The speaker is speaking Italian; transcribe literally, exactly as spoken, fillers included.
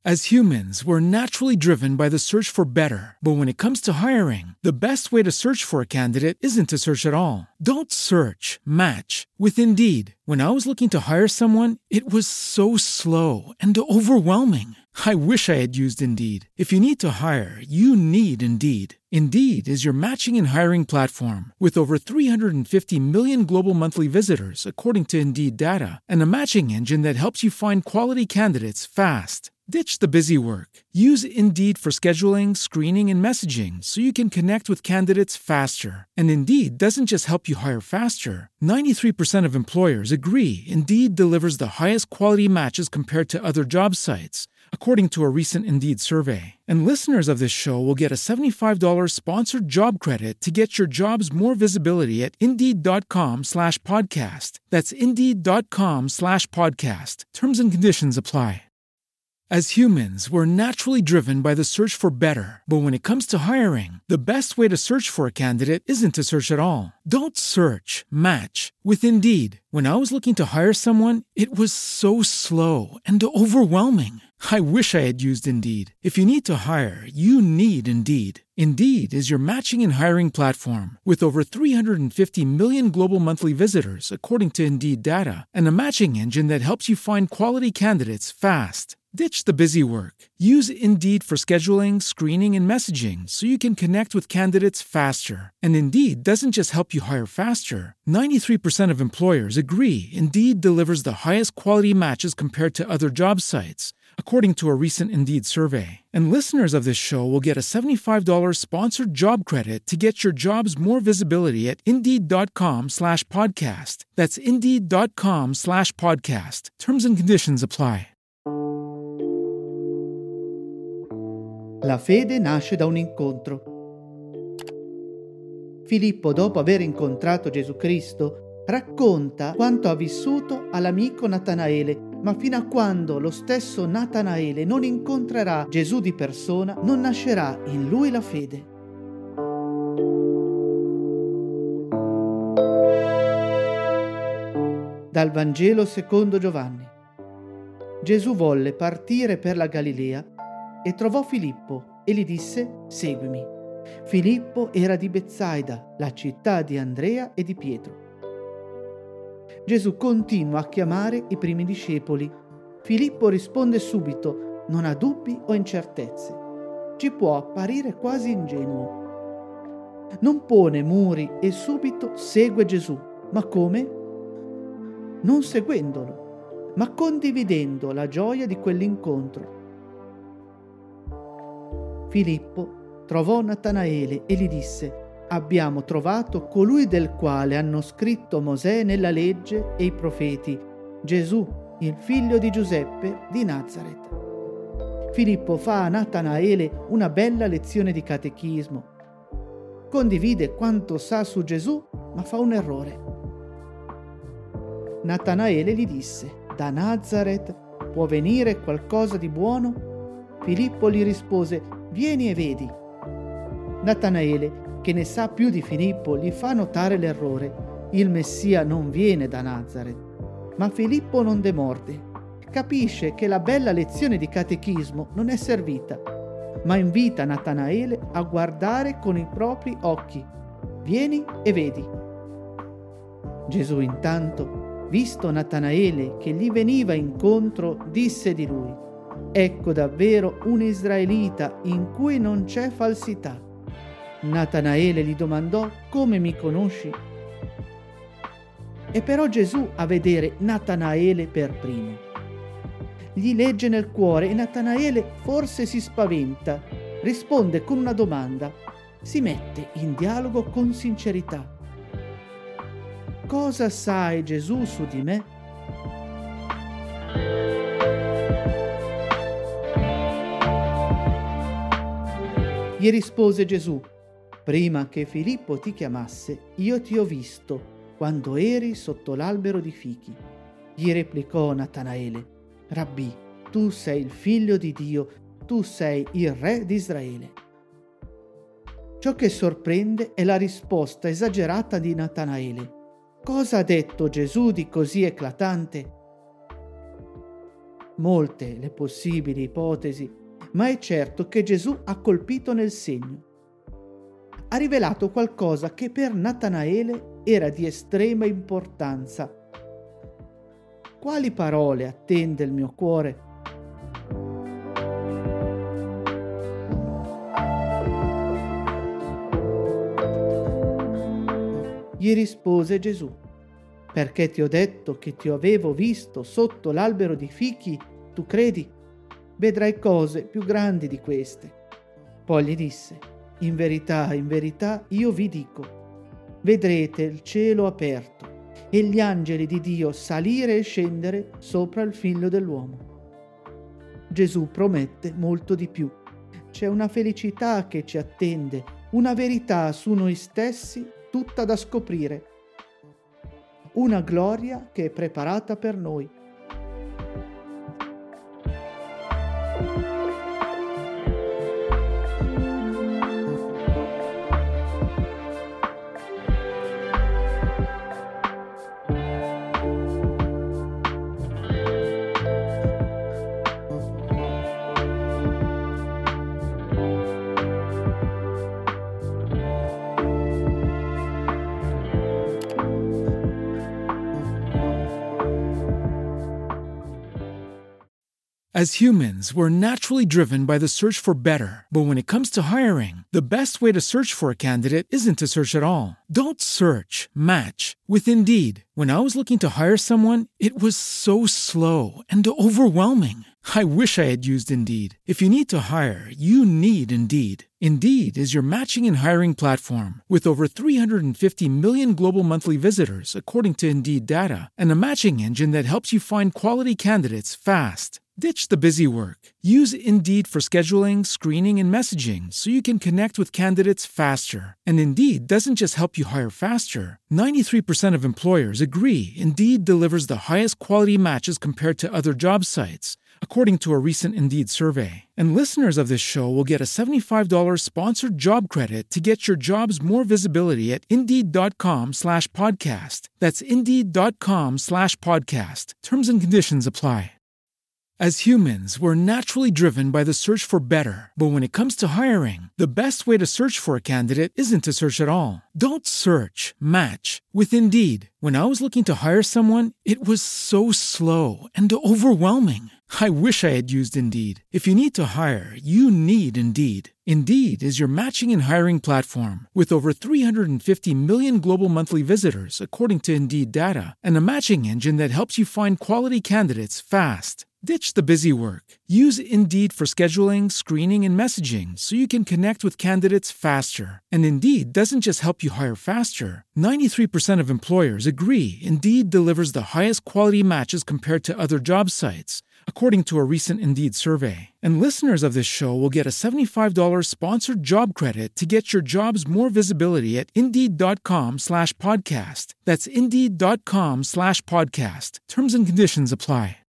As humans, we're naturally driven by the search for better. But when it comes to hiring, the best way to search for a candidate isn't to search at all. Don't search, match with Indeed. When I was looking to hire someone, it was so slow and overwhelming. I wish I had used Indeed. If you need to hire, you need Indeed. Indeed is your matching and hiring platform with over three hundred fifty million global monthly visitors, according to Indeed data, and a matching engine that helps you find quality candidates fast. Ditch the busy work. Use Indeed for scheduling, screening, and messaging so you can connect with candidates faster. And Indeed doesn't just help you hire faster. ninety-three percent of employers agree Indeed delivers the highest quality matches compared to other job sites, according to a recent Indeed survey. And listeners of this show will get a seventy-five dollars sponsored job credit to get your jobs more visibility at Indeed.com slash podcast. That's Indeed.com slash podcast. Terms and conditions apply. As humans, we're naturally driven by the search for better. But when it comes to hiring, the best way to search for a candidate isn't to search at all. Don't search, match with Indeed. When I was looking to hire someone, it was so slow and overwhelming. I wish I had used Indeed. If you need to hire, you need Indeed. Indeed is your matching and hiring platform with over three hundred fifty million global monthly visitors, according to Indeed data, and a matching engine that helps you find quality candidates fast. Ditch the busy work. Use Indeed for scheduling, screening, and messaging so you can connect with candidates faster. And Indeed doesn't just help you hire faster. ninety-three percent of employers agree Indeed delivers the highest quality matches compared to other job sites, according to a recent Indeed survey. And listeners of this show will get a seventy-five dollars sponsored job credit to get your jobs more visibility at Indeed.com slash podcast. That's Indeed.com slash podcast. Terms and conditions apply. La fede nasce da un incontro. Filippo, dopo aver incontrato Gesù Cristo, racconta quanto ha vissuto all'amico Natanaele, ma fino a quando lo stesso Natanaele non incontrerà Gesù di persona, non nascerà in lui la fede. Dal Vangelo secondo Giovanni. Gesù volle partire per la Galilea e trovò Filippo e gli disse: «Seguimi». Filippo era di Betsaida, la città di Andrea e di Pietro. Gesù continua a chiamare i primi discepoli. Filippo risponde subito, non ha dubbi o incertezze. Ci può apparire quasi ingenuo. Non pone muri e subito segue Gesù. Ma come? Non seguendolo, ma condividendo la gioia di quell'incontro. Filippo trovò Natanaele e gli disse: «Abbiamo trovato colui del quale hanno scritto Mosè nella legge e i profeti, Gesù, il figlio di Giuseppe di Nazaret». Filippo fa a Natanaele una bella lezione di catechismo. Condivide quanto sa su Gesù, ma fa un errore. Natanaele gli disse: «Da Nazaret può venire qualcosa di buono?» Filippo gli rispose: «Vieni e vedi». Natanaele, che ne sa più di Filippo, gli fa notare l'errore. Il Messia non viene da Nazaret. Ma Filippo non demorde. Capisce che la bella lezione di catechismo non è servita, ma invita Natanaele a guardare con i propri occhi. «Vieni e vedi». Gesù intanto, visto Natanaele che gli veniva incontro, disse di lui: «Ecco davvero un israelita in cui non c'è falsità». Natanaele gli domandò: «Come mi conosci?» E però Gesù a vedere Natanaele per primo. Gli legge nel cuore e Natanaele forse si spaventa, risponde con una domanda, si mette in dialogo con sincerità. «Cosa sai, Gesù, su di me?» Gli rispose Gesù: «Prima che Filippo ti chiamasse, io ti ho visto quando eri sotto l'albero di fichi». Gli replicò Natanaele: «Rabbì, tu sei il figlio di Dio, tu sei il re di Israele». Ciò che sorprende è la risposta esagerata di Natanaele. Cosa ha detto Gesù di così eclatante? molte le possibili ipotesi, ma è certo che Gesù ha colpito nel segno. Ha rivelato qualcosa che per Natanaele era di estrema importanza. Quali parole attende il mio cuore? Gli rispose Gesù: perché ti ho detto che ti avevo visto sotto l'albero di fichi, tu credi? Vedrai cose più grandi di queste. Poi gli disse: in verità, in verità, io vi dico, vedrete il cielo aperto e gli angeli di Dio salire e scendere sopra il figlio dell'uomo. Gesù promette molto di più. C'è una felicità che ci attende, una verità su noi stessi tutta da scoprire, una gloria che è preparata per noi. As humans, we're naturally driven by the search for better. But when it comes to hiring, the best way to search for a candidate isn't to search at all. Don't search, match with Indeed. When I was looking to hire someone, it was so slow and overwhelming. I wish I had used Indeed. If you need to hire, you need Indeed. Indeed is your matching and hiring platform with over three hundred fifty million global monthly visitors, according to Indeed data, and a matching engine that helps you find quality candidates fast. Ditch the busy work. Use Indeed for scheduling, screening, and messaging so you can connect with candidates faster. And Indeed doesn't just help you hire faster. ninety-three percent of employers agree Indeed delivers the highest quality matches compared to other job sites, according to a recent Indeed survey. And listeners of this show will get a seventy-five dollars sponsored job credit to get your jobs more visibility at Indeed.com slash podcast. That's Indeed.com slash podcast. Terms and conditions apply. As humans, we're naturally driven by the search for better. But when it comes to hiring, the best way to search for a candidate isn't to search at all. Don't search, match with Indeed. When I was looking to hire someone, it was so slow and overwhelming. I wish I had used Indeed. If you need to hire, you need Indeed. Indeed is your matching and hiring platform with over three hundred fifty million global monthly visitors, according to Indeed data, and a matching engine that helps you find quality candidates fast. Ditch the busy work. Use Indeed for scheduling, screening, and messaging so you can connect with candidates faster. And Indeed doesn't just help you hire faster. ninety-three percent of employers agree Indeed delivers the highest quality matches compared to other job sites, according to a recent Indeed survey. And listeners of this show will get a seventy-five dollars sponsored job credit to get your jobs more visibility at Indeed.com slash podcast. That's Indeed.com slash podcast. Terms and conditions apply.